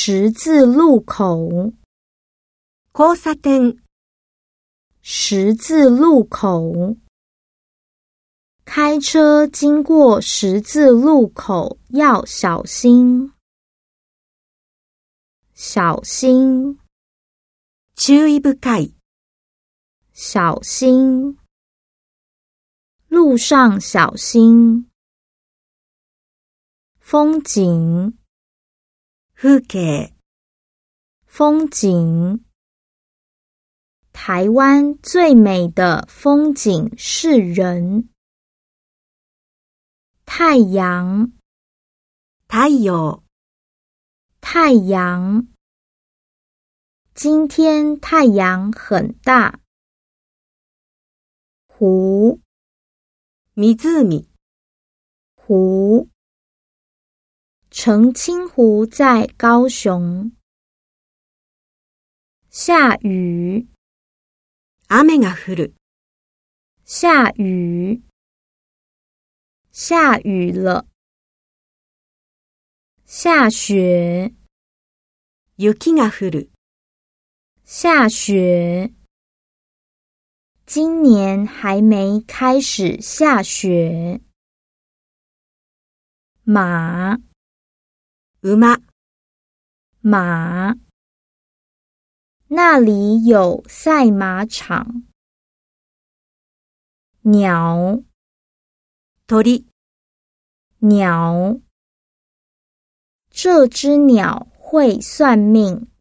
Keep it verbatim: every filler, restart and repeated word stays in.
十字路口。 交差点。 十字路口。开车经过十字路口要小心。小心。 注意深い。 小心。路上小心。风景。 風景。 风景。台湾最美的风景是人。太阳。 太陽。 太阳。今天太阳很大。湖。 湖。 湖。澄清湖在高雄。下雨。 雨が降る。 下雨。下雨了。下雪。 雪が降る。 下雪。今年还没开始下雪。马。 馬。 马。那里有赛马场。鸟。 鳥。 鸟。这只鸟会算命。